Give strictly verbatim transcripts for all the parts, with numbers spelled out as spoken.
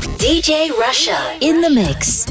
D J Russia in the mix.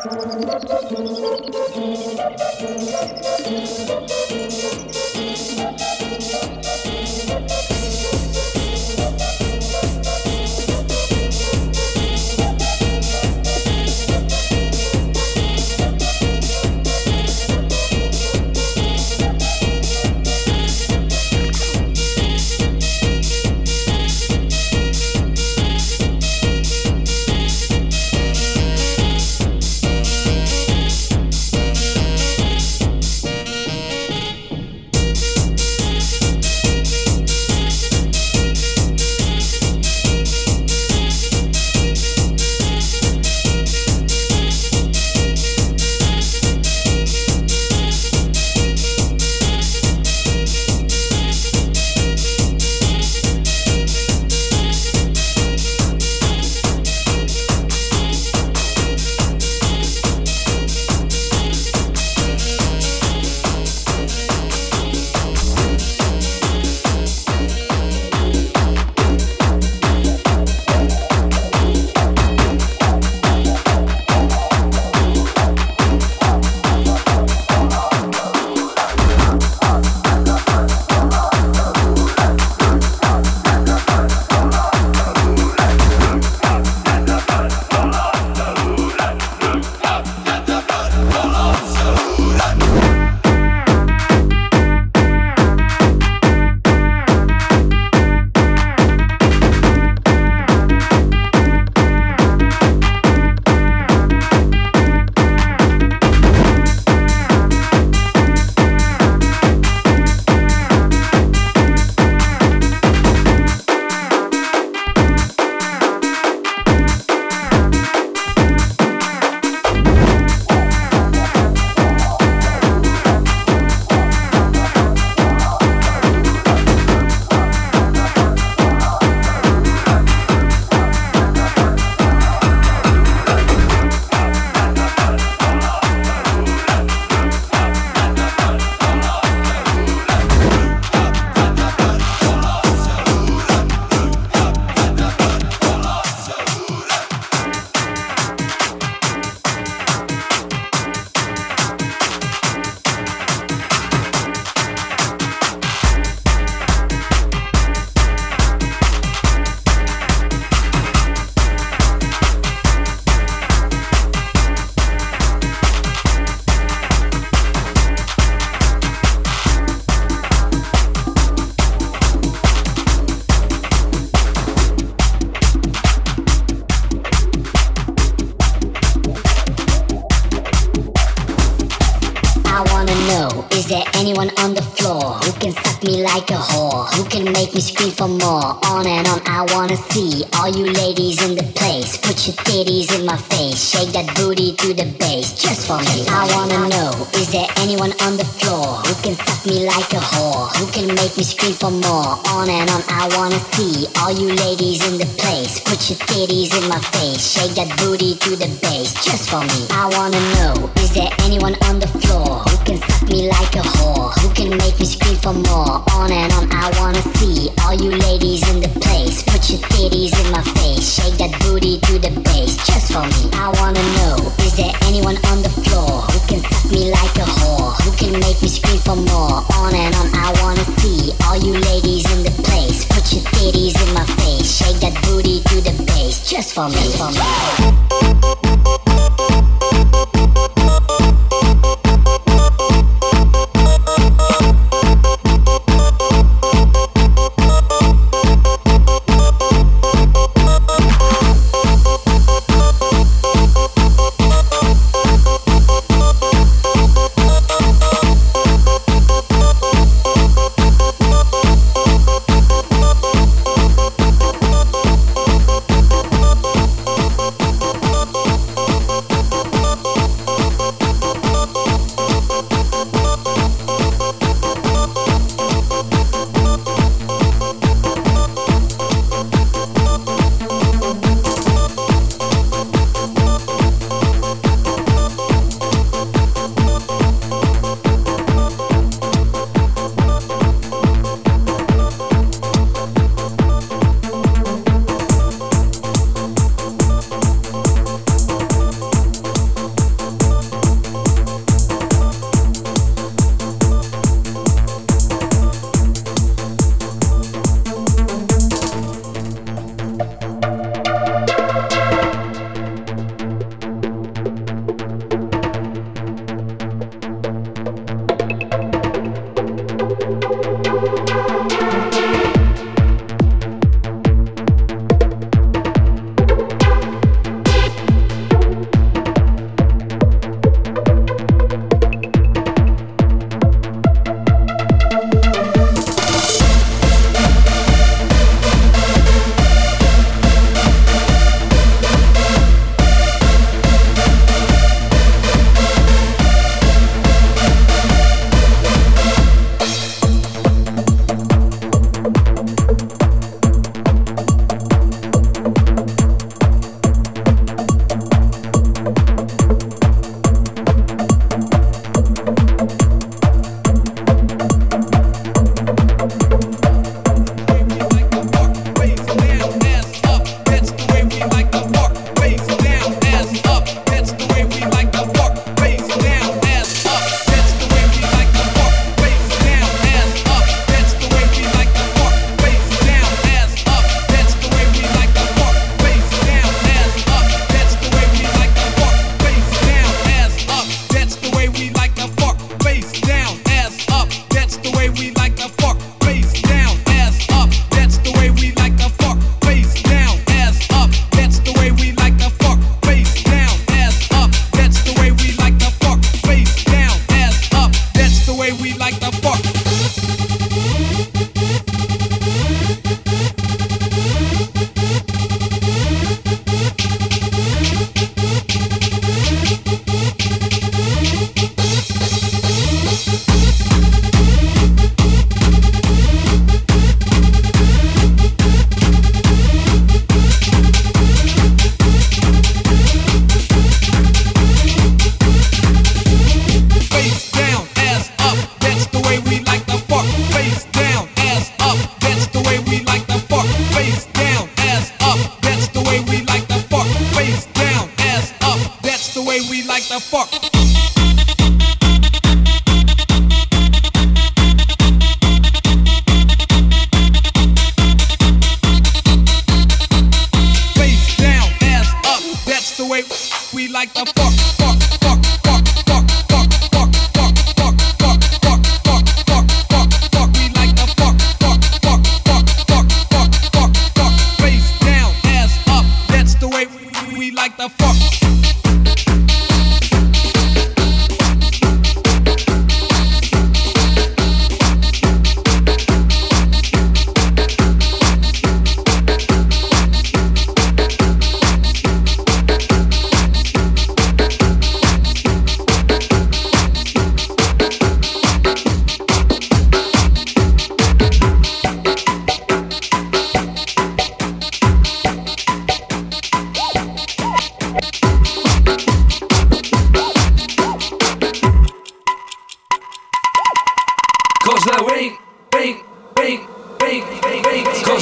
anyone on the floor who can suck me like a whore, who can make me scream for more. On and on I wanna see all you ladies in the place. Put your titties in my face, shake that booty to the bass, just for me. I wanna know, is there anyone on the floor who can suck me like a whore, who can make me scream for more. On and on I wanna see all you ladies in the place. Put your titties in my face, shake that booty to the bass, just for me. I wanna know, is there anyone on the floor who can suck me like a whore, who can make me scream for more. On and on I wanna see all you ladies in the place. Put your titties in my face, shake that booty to the bass, just for me. I wanna know, is there anyone on the floor who can suck me like a whore, who can make me scream for more. On and on I wanna see all you ladies in the place. Put your titties in my face, shake that booty to the bass, just for me. Just for me.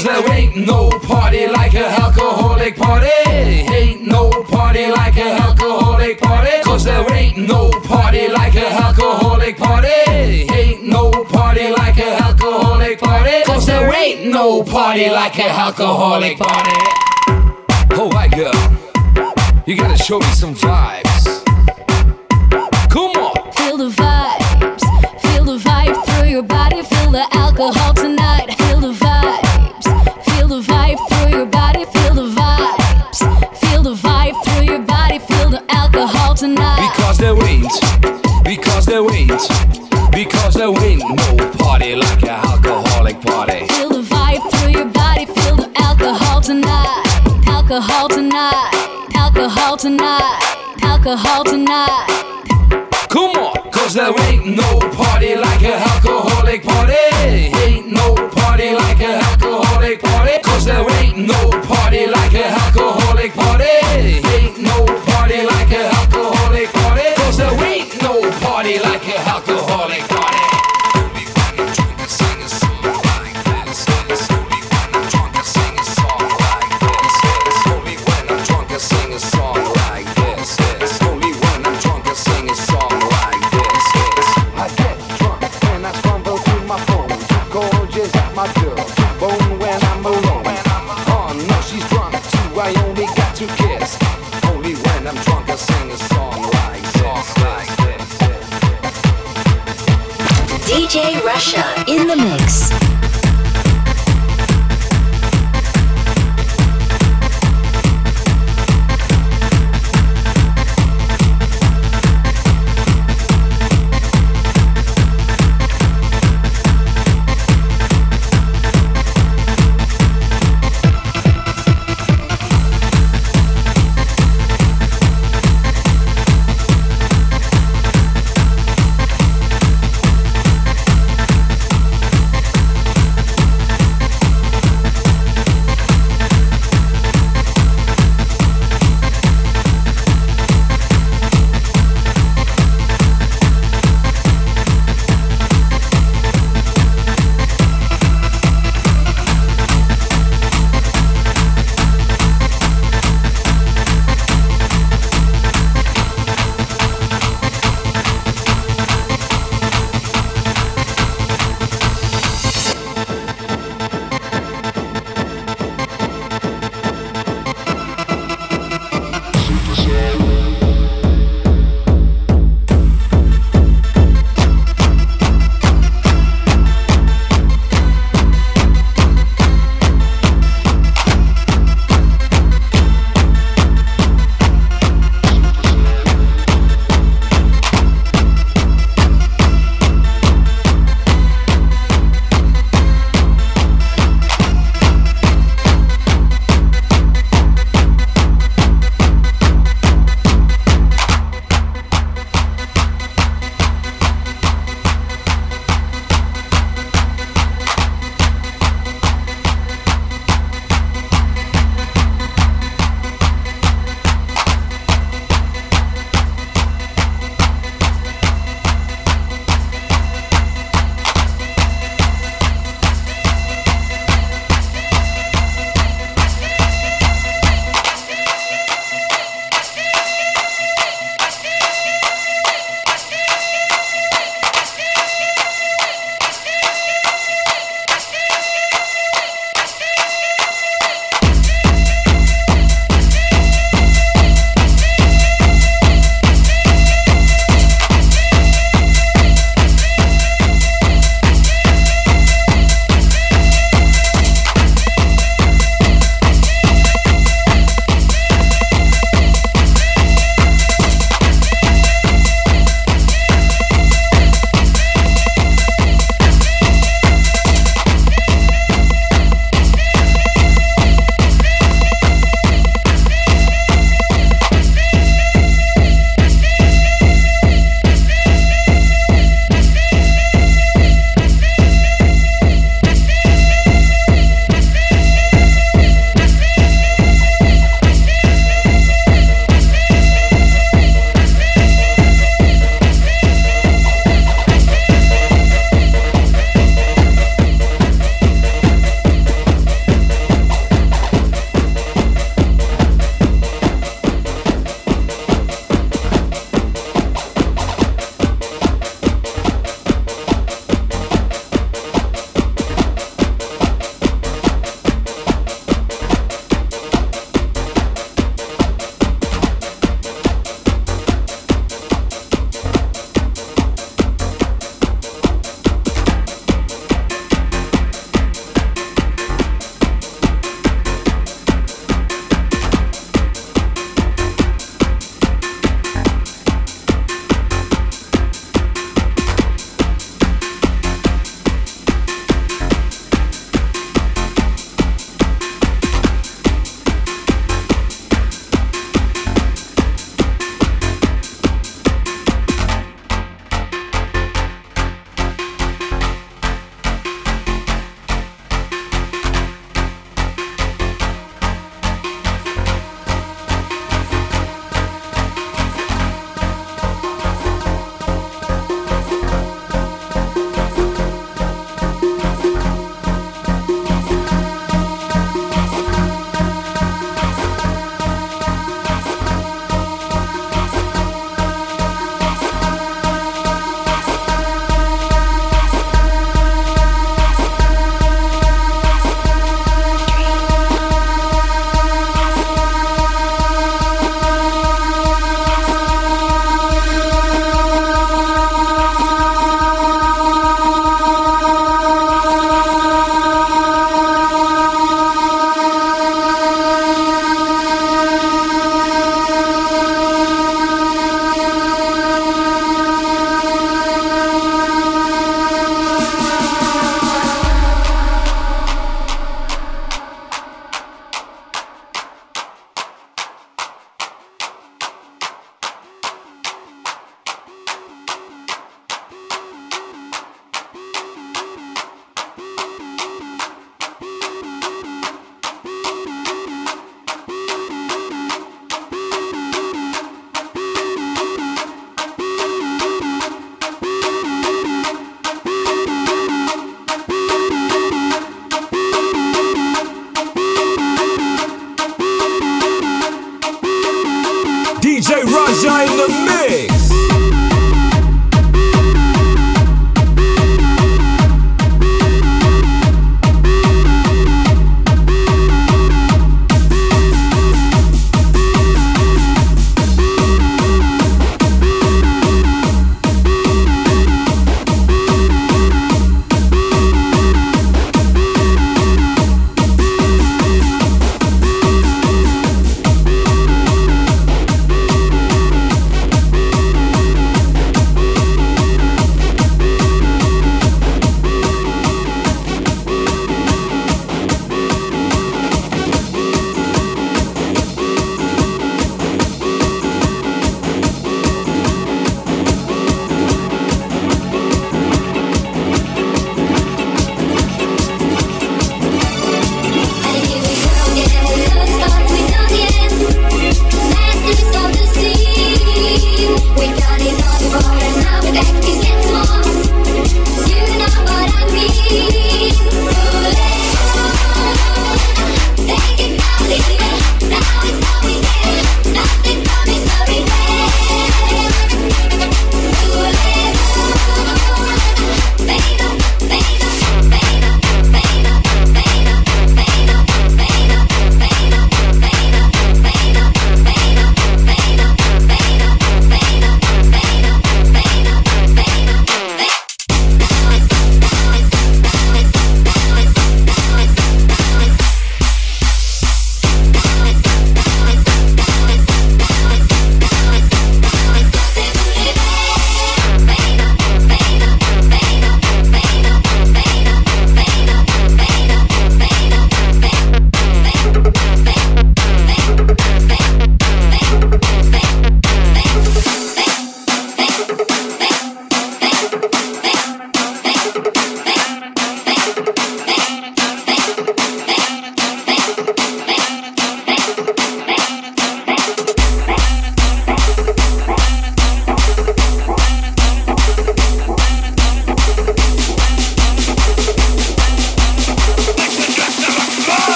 Cause there ain't no party like a alcoholic party. Ain't no party like a alcoholic party. Cause there ain't no party like a alcoholic party. Ain't no party like a alcoholic party. Cause there ain't no party like a alcoholic party. Oh, white girl, you gotta show me some vibes. Come on. Feel the vibes, feel the vibe through your body. Feel the alcohol tonight. Feel the vibes, feel the vibe through your body. Feel the vibes, feel the vibe through your body. Feel the alcohol tonight. Because there ain't, because there ain't, because there ain't no party like a alcoholic party. Feel the vibe through your body. Feel the alcohol tonight. Alcohol tonight. Alcohol tonight. Alcohol tonight. Come on, cause there ain't no party like a alcoholic party. Ain't no party like a alcoholic party. Cause there ain't no party like a alcoholic party. Ain't no party like a alcoholic party. Cause there ain't no party like a alcoholic party. D J Russia in the mix.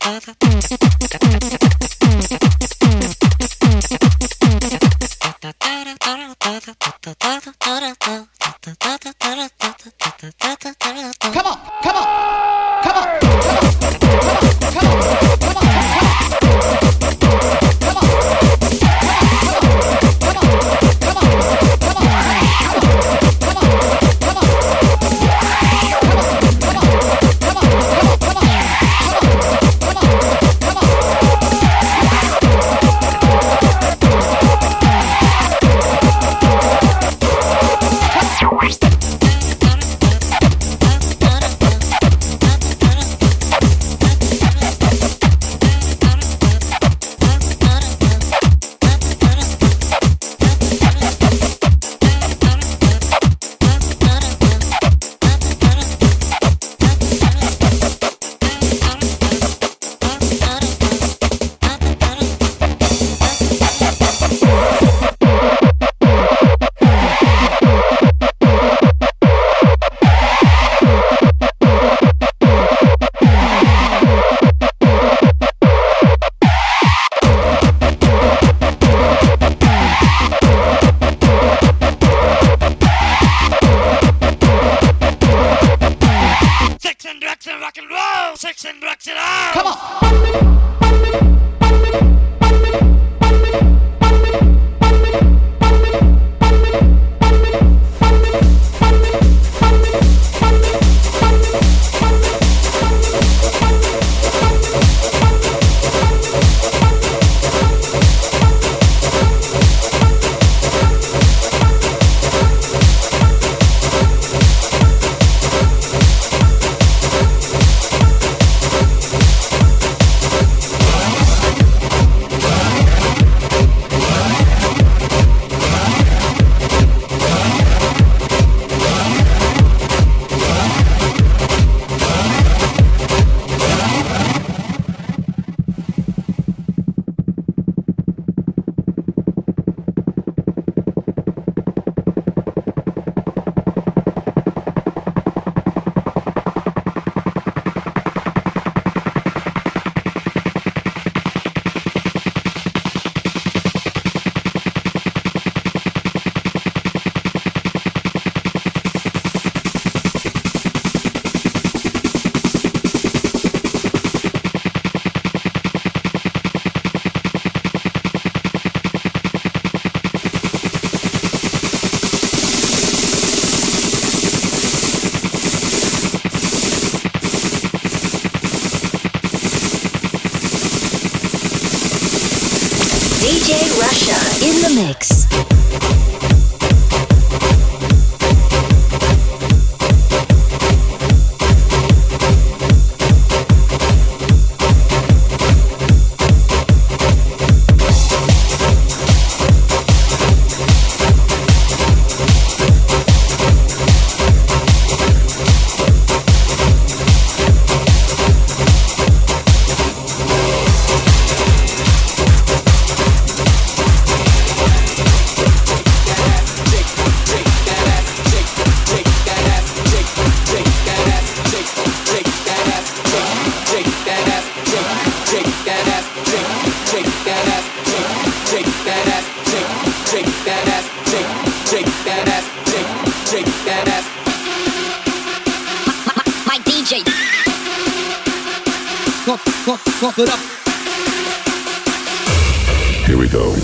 D J Russia in the mix. Put up. Here we go.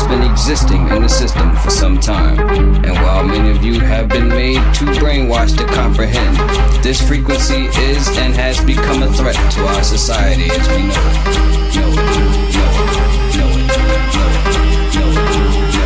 been existing in the system for some time. And while many of you have been made too brainwashed to comprehend, this frequency is and has become a threat to our society as we know it. Know it. Know it. Know it. Know it. Know it.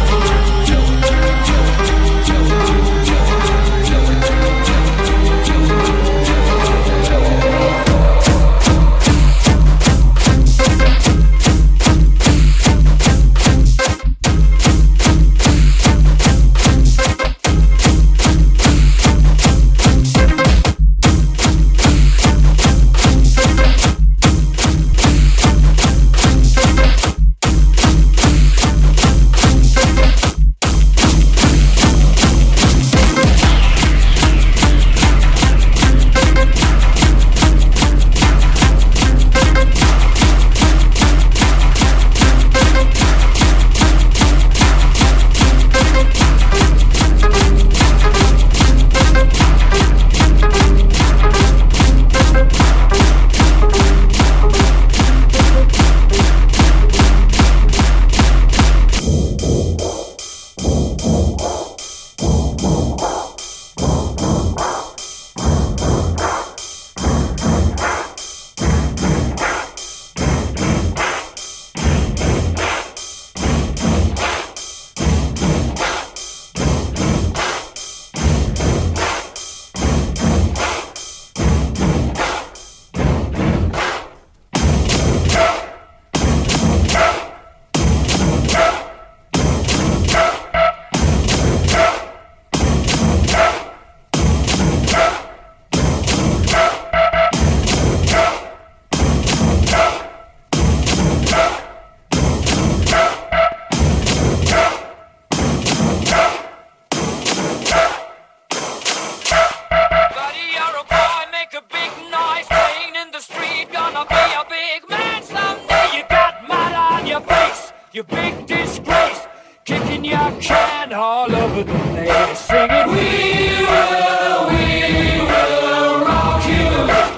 You big disgrace, kicking your can all over the place, singing, we will, we will rock you.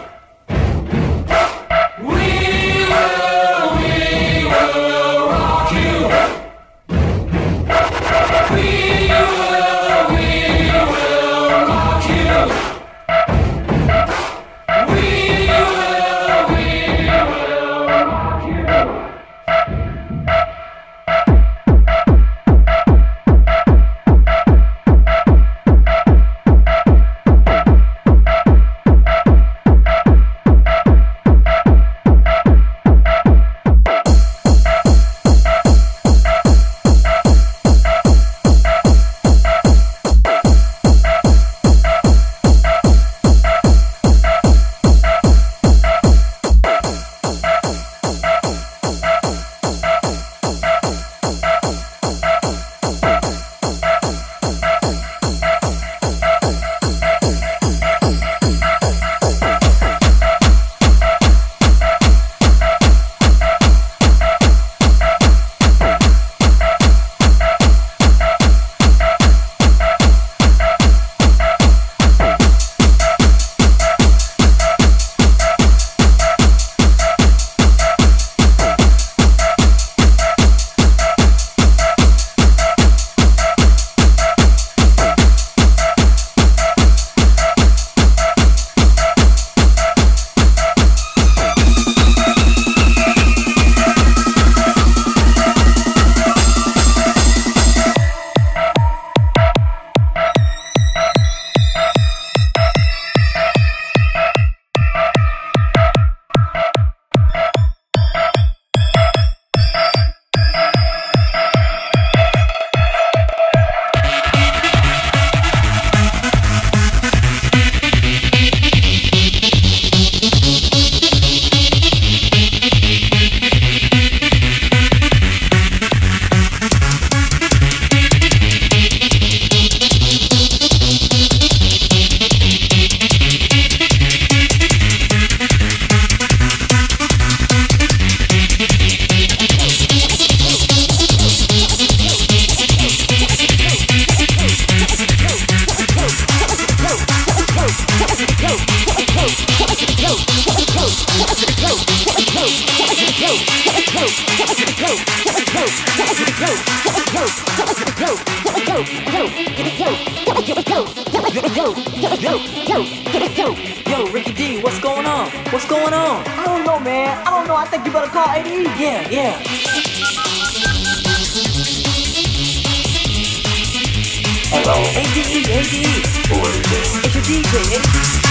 We will, we will rock you. We will, we will rock you. We will, we will rock you. Yo, yo, yo, yo, yo, yo, Ricky D, what's going on? What's going on? I don't know, man. I don't know. I think you better call A D E. Yeah, yeah. Hello. A D E, A D E. Who is this? It's your D J, eh?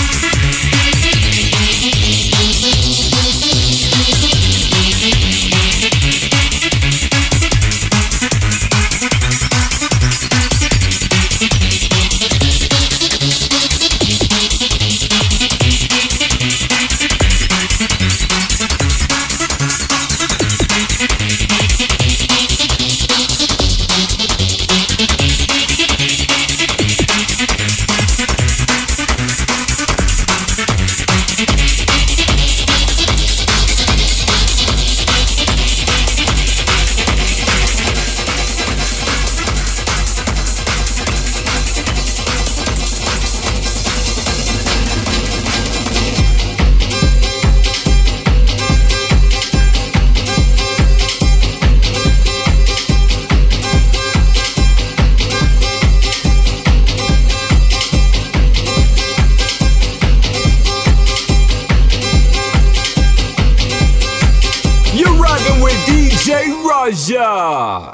Raja.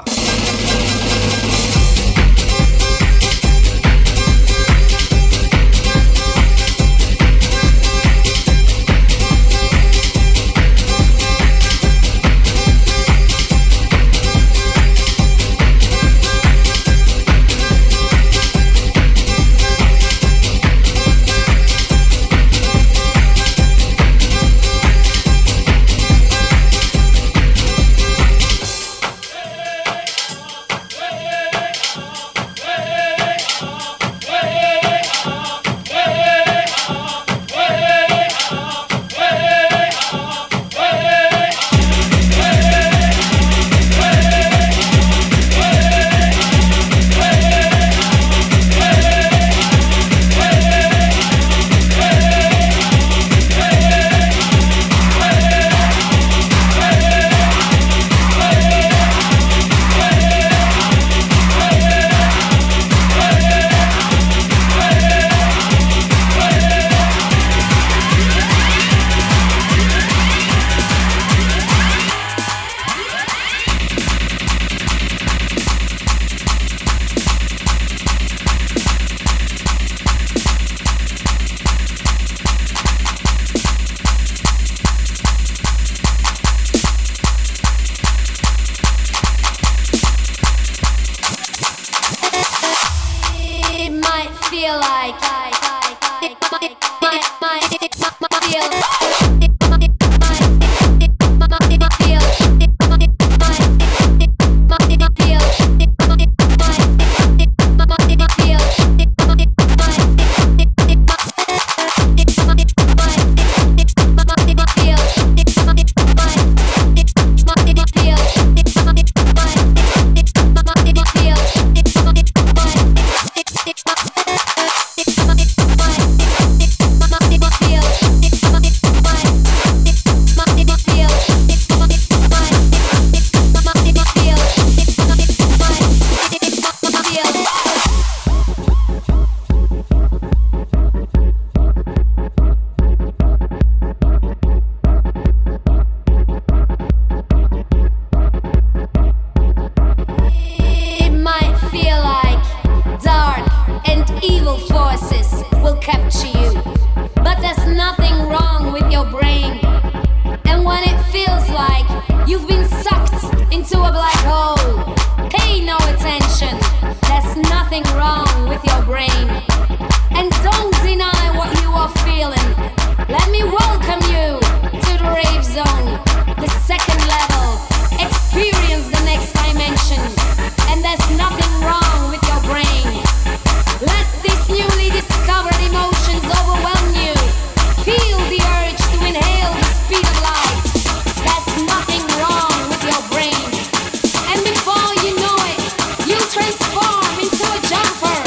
Transform into a jumper.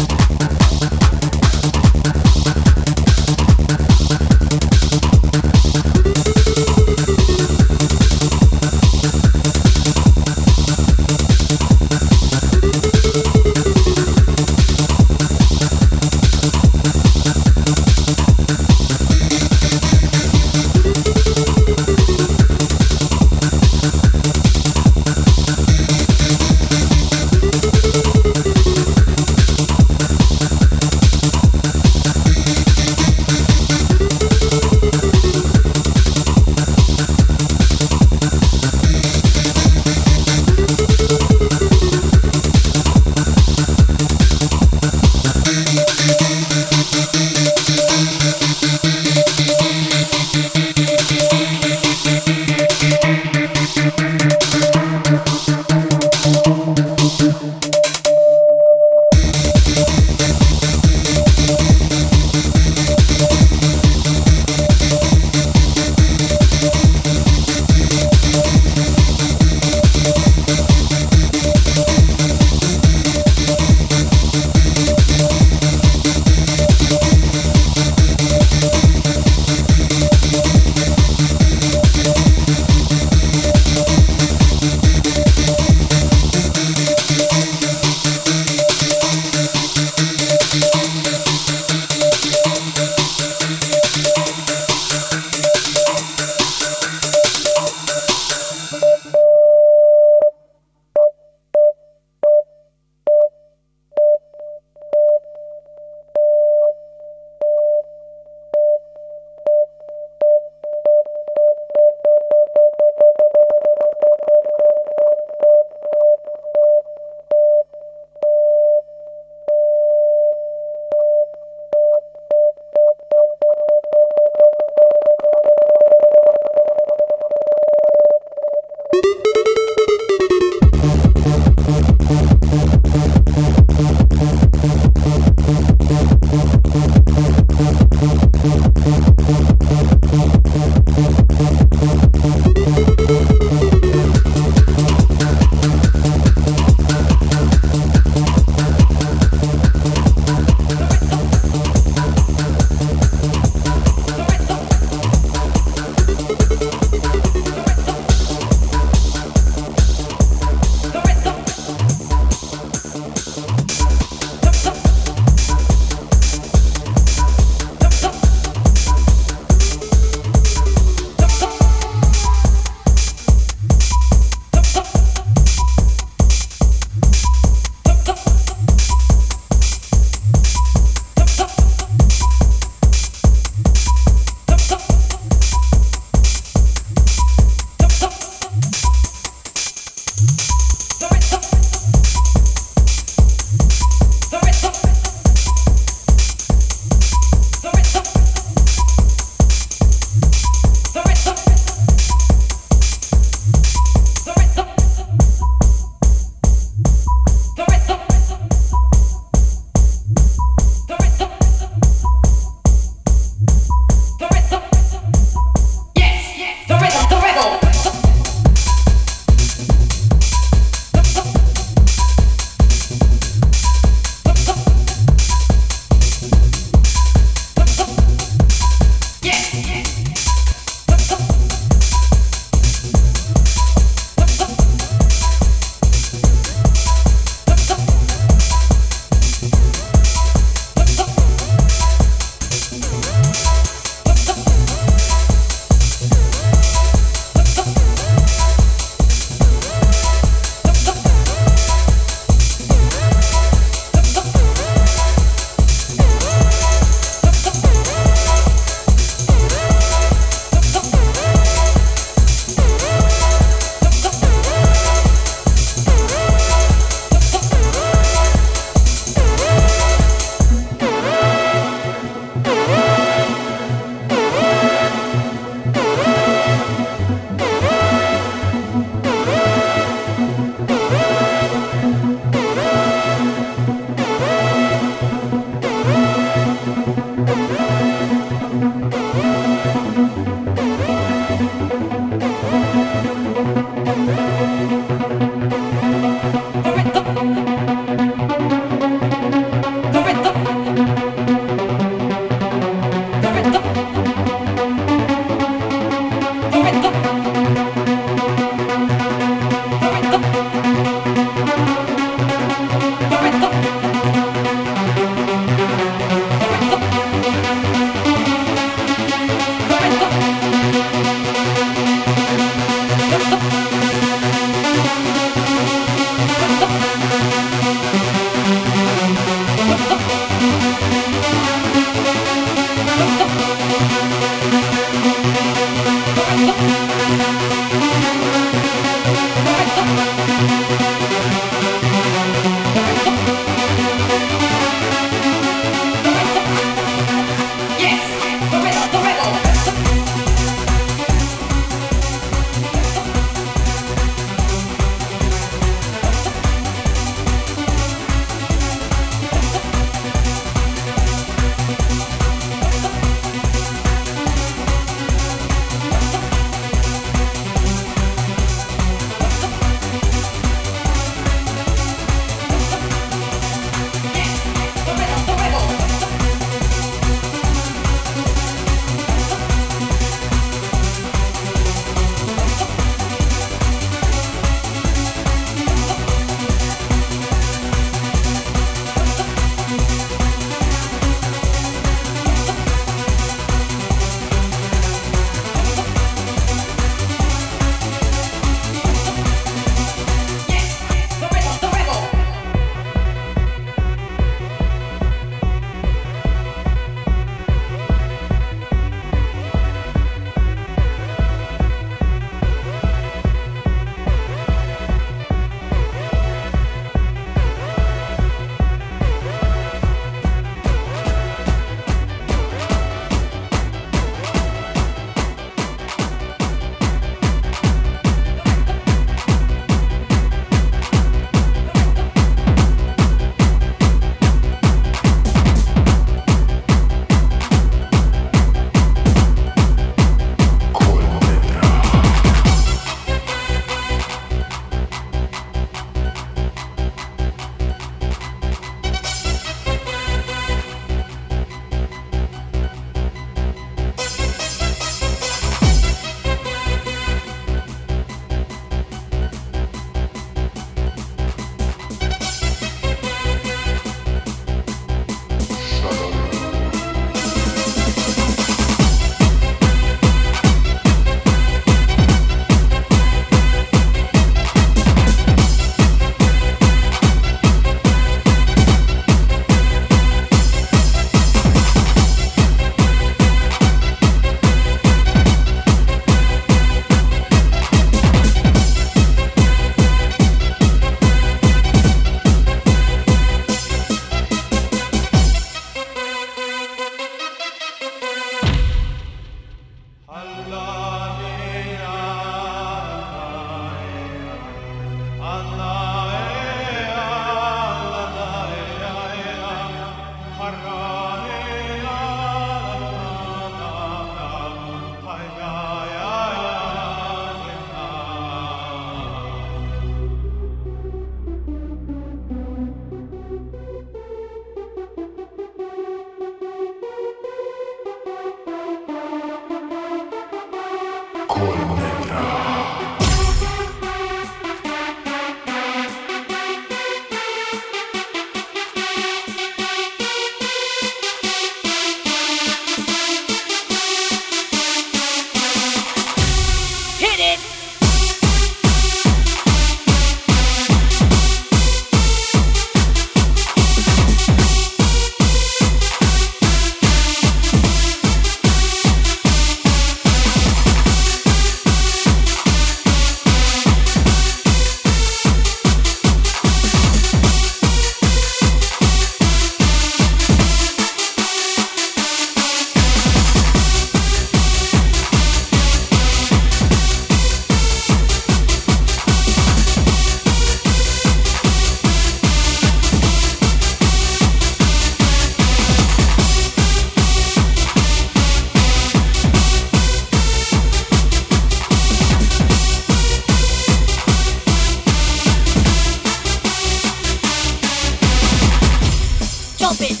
bump it.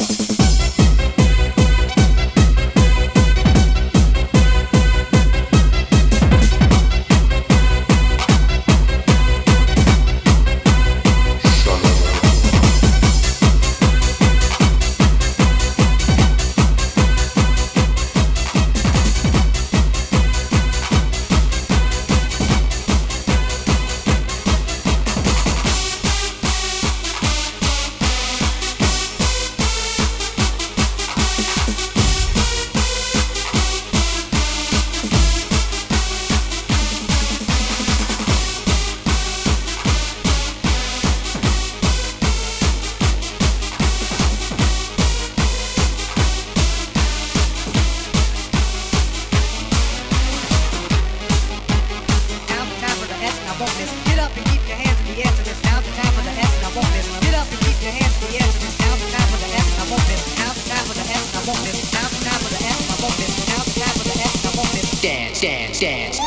Dance, dance, dance.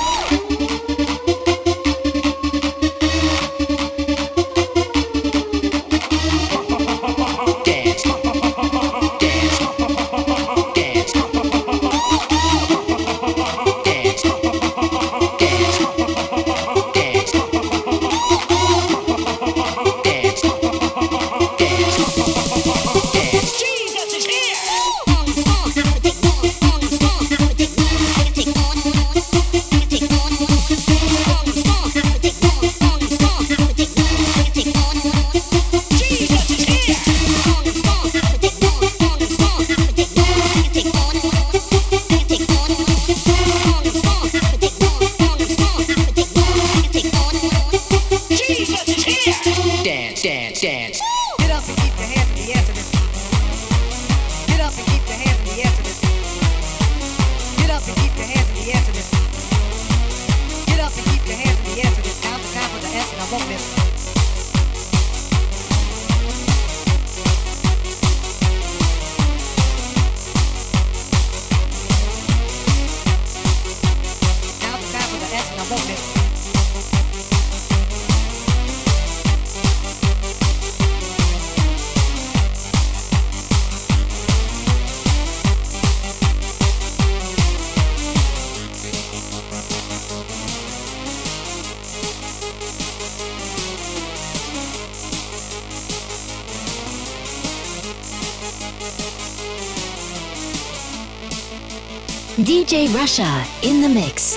Dance, dance, dance. Get up and keep your hands in the air to this. Get up and keep your hands in the air to this. Get up and keep your hands in the air to this. Get up and keep your hands in the air to this. Now's the time for the S and I won't miss. Now's the time for the S and I won't miss. D J Russia in the mix.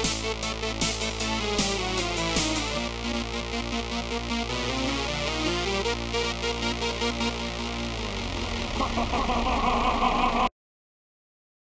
Ha ha ha ha ha ha!